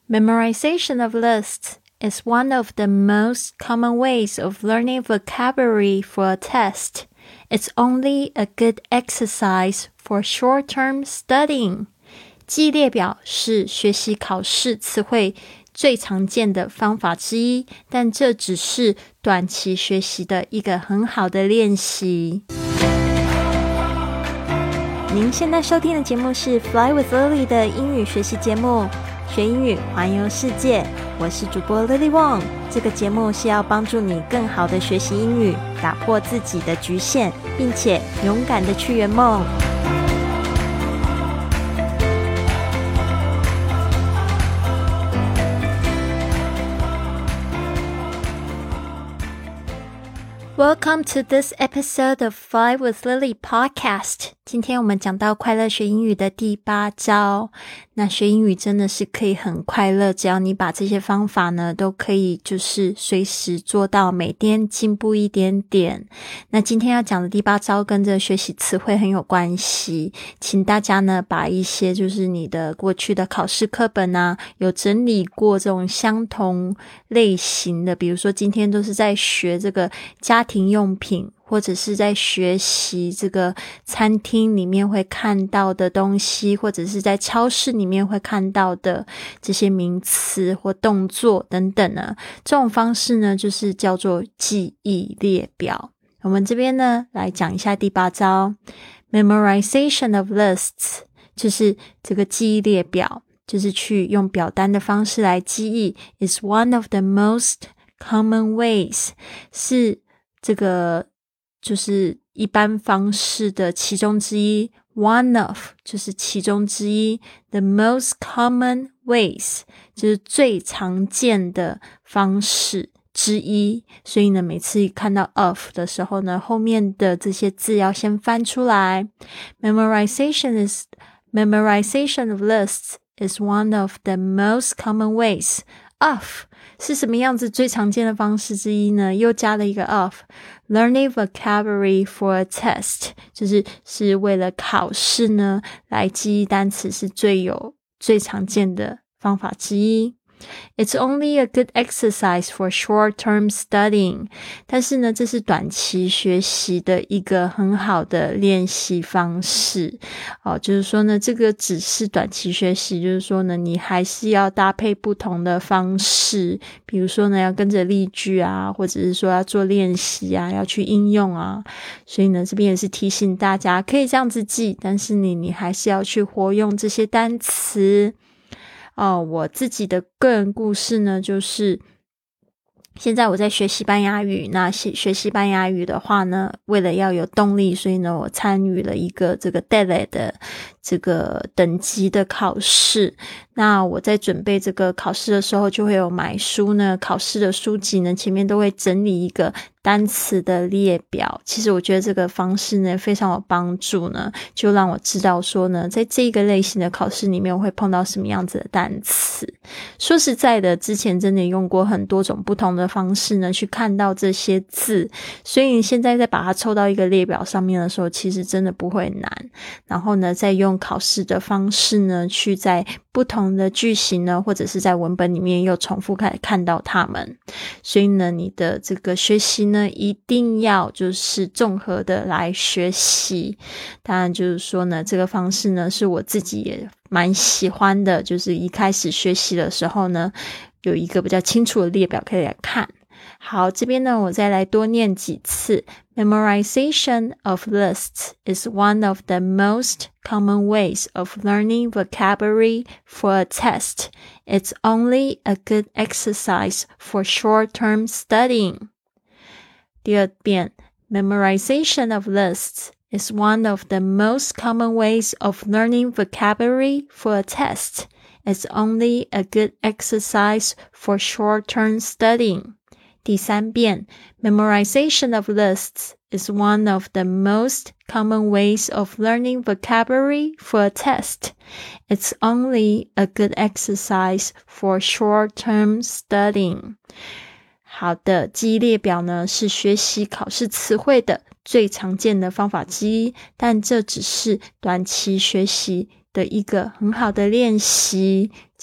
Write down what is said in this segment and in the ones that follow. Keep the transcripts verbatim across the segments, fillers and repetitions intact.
Memorization of lists is one of the most common ways of learning vocabulary for a test. It's only a good exercise for short-term studying. 记忆列表是学习考试词汇最常见的方法之一，但这只是短期学习的一个很好的练习。您现在收听的节目是 Fly with Lily 的英语学习节目，学英语环游世界。我是主播 Lily Wong， 这个节目是要帮助你更好的学习英语，打破自己的局限，并且勇敢的去圆梦。Welcome to this episode of Fly with Lily podcast. 今天我们讲到快乐学英语的第八招。那学英语真的是可以很快乐，只要你把这些方法呢都可以就是随时做到，每天进步一点点。那今天要讲的第八招跟这学习词汇很有关系，请大家呢把一些就是你的过去的考试课本啊，有整理过这种相同类型的，比如说今天都是在学这个家庭用品，或者是在学习这个餐厅里面会看到的东西，或者是在超市里面会看到的这些名词或动作等等呢，这种方式呢就是叫做记忆列表。我们这边呢来讲一下第八招 Memorization of lists， 就是这个记忆列表，就是去用表单的方式来记忆 is one of the most common ways， 是这个就是一般方式的其中之一， one of 就是其中之一， the most common ways 就是最常见的方式之一，所以呢每次看到 of 的时候呢，后面的这些字要先翻出来。 Memorization is Memorization of lists is one of the most common ways. Of 是什么样子最常见的方式之一呢？又加了一个 of Learning vocabulary for a test， 就是是为了考试呢来记忆单词，是最有最常见的方法之一。It's only a good exercise for short-term studying， 但是呢这是短期学习的一个很好的练习方式哦，就是说呢这个只是短期学习，就是说呢你还是要搭配不同的方式，比如说呢要跟着例句啊，或者是说要做练习啊，要去应用啊，所以呢这边也是提醒大家可以这样子记，但是你你还是要去活用这些单词哦。我自己的个人故事呢，就是现在我在学西班牙语，那学西班牙语的话呢，为了要有动力，所以呢我参与了一个这个 D E L E 的这个等级的考试。那我在准备这个考试的时候，就会有买书呢，考试的书籍呢前面都会整理一个单词的列表。其实我觉得这个方式呢非常有帮助呢，就让我知道说呢在这个类型的考试里面我会碰到什么样子的单词。说实在的，之前真的用过很多种不同的方式呢去看到这些字，所以你现在再把它抽到一个列表上面的时候，其实真的不会难。然后呢再用考试的方式呢去在不同的句型呢，或者是在文本里面又重复看看到它们，所以呢你的这个学习呢一定要就是综合的来学习。当然就是说呢这个方式呢是我自己也蛮喜欢的，就是一开始学习的时候呢有一个比较清楚的列表可以来看。好，这边呢我再来多念几次。 Memorization of lists is one of the most common ways of learning vocabulary for a test. It's only a good exercise for short-term studying. 第二遍 Memorization of lists is one of the most common ways of learning vocabulary for a test. It's only a good exercise for short-term studying. 第三遍 Memorization of lists is one of the most common ways of learning vocabulary for a test. It's only a good exercise for short-term studying. 好的，记忆列表呢是学习考试词汇的最常见的方法之一，但这只是短期学习的一个很好的练习，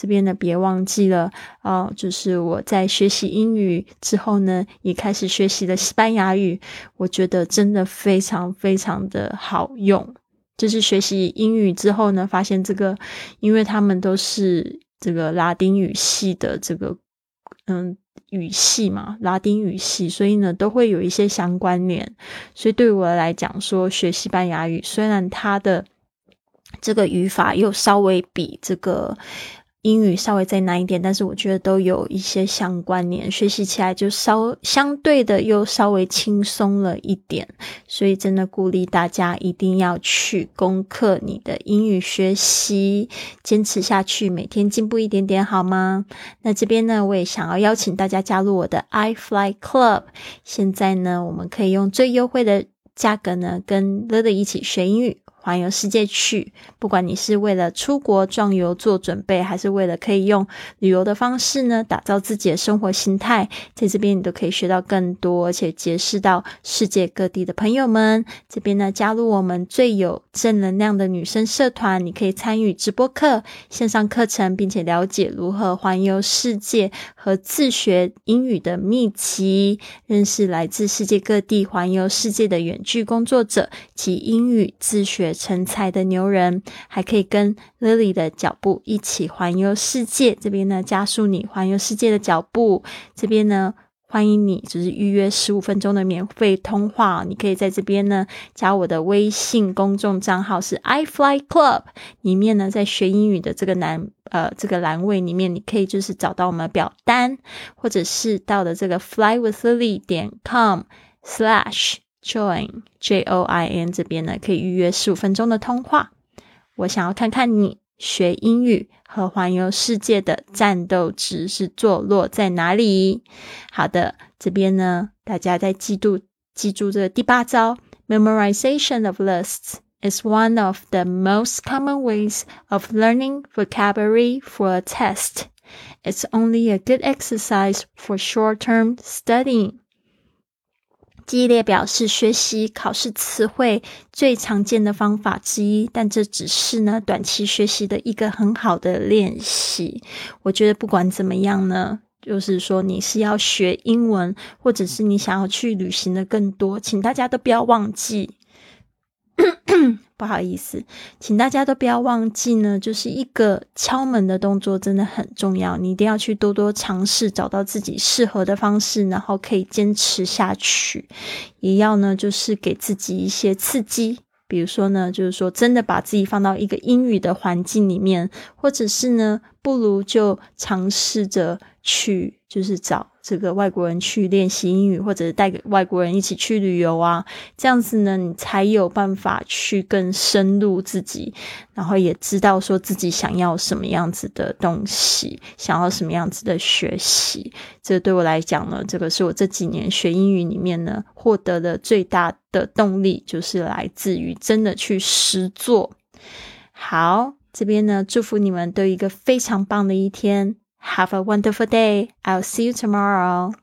这边呢别忘记了哦，就是我在学习英语之后呢，也开始学习了西班牙语，我觉得真的非常非常的好用。就是学习英语之后呢，发现这个因为他们都是这个拉丁语系的这个嗯语系嘛，拉丁语系，所以呢都会有一些相关联。所以对我来讲说，学西班牙语虽然它的这个语法又稍微比这个英语稍微再难一点，但是我觉得都有一些相关联，学习起来就稍相对的又稍微轻松了一点。所以真的鼓励大家一定要去攻克你的英语学习，坚持下去，每天进步一点点好吗？那这边呢，我也想要邀请大家加入我的 iFly Club。现在呢，我们可以用最优惠的价格呢，跟 Lily 一起学英语，环游世界去。不管你是为了出国壮游做准备，还是为了可以用旅游的方式呢，打造自己的生活形态，在这边你都可以学到更多，而且结识到世界各地的朋友们。这边呢，加入我们最有正能量的女生社团，你可以参与直播课、线上课程，并且了解如何环游世界和自学英语的秘籍，认识来自世界各地环游世界的远距工作者及英语自学成才的牛人，还可以跟 Lily 的脚步一起环游世界。这边呢，加速你环游世界的脚步。这边呢，欢迎你就是预约十五分钟的免费通话，你可以在这边呢加我的微信公众账号是 iFly Club， 里面呢在学英语的这个栏呃这个栏位里面，你可以就是找到我们的表单，或者是到的这个 fly with lily 点 com slash join J O I N 这边呢可以预约十五分钟的通话。我想要看看你学英语和环游世界的战斗值是坐落在哪里。好的，这边呢大家在记住记住这个第八招 Memorization of lists is one of the most common ways of learning vocabulary for a test. It's only a good exercise for short-term studying.记忆列表是学习考试词汇最常见的方法之一，但这只是呢短期学习的一个很好的练习。我觉得不管怎么样呢，就是说你是要学英文，或者是你想要去旅行的更多，请大家都不要忘记不好意思，请大家都不要忘记呢，就是一个敲门的动作真的很重要，你一定要去多多尝试，找到自己适合的方式，然后可以坚持下去。也要呢就是给自己一些刺激，比如说呢就是说真的把自己放到一个英语的环境里面，或者是呢不如就尝试着去就是找这个外国人去练习英语，或者是带给外国人一起去旅游啊，这样子呢你才有办法去更深入自己，然后也知道说自己想要什么样子的东西，想要什么样子的学习。这对我来讲呢，这个是我这几年学英语里面呢获得的最大的动力，就是来自于真的去实作。好，这边呢祝福你们都有一个非常棒的一天。Have a wonderful day. I'll see you tomorrow.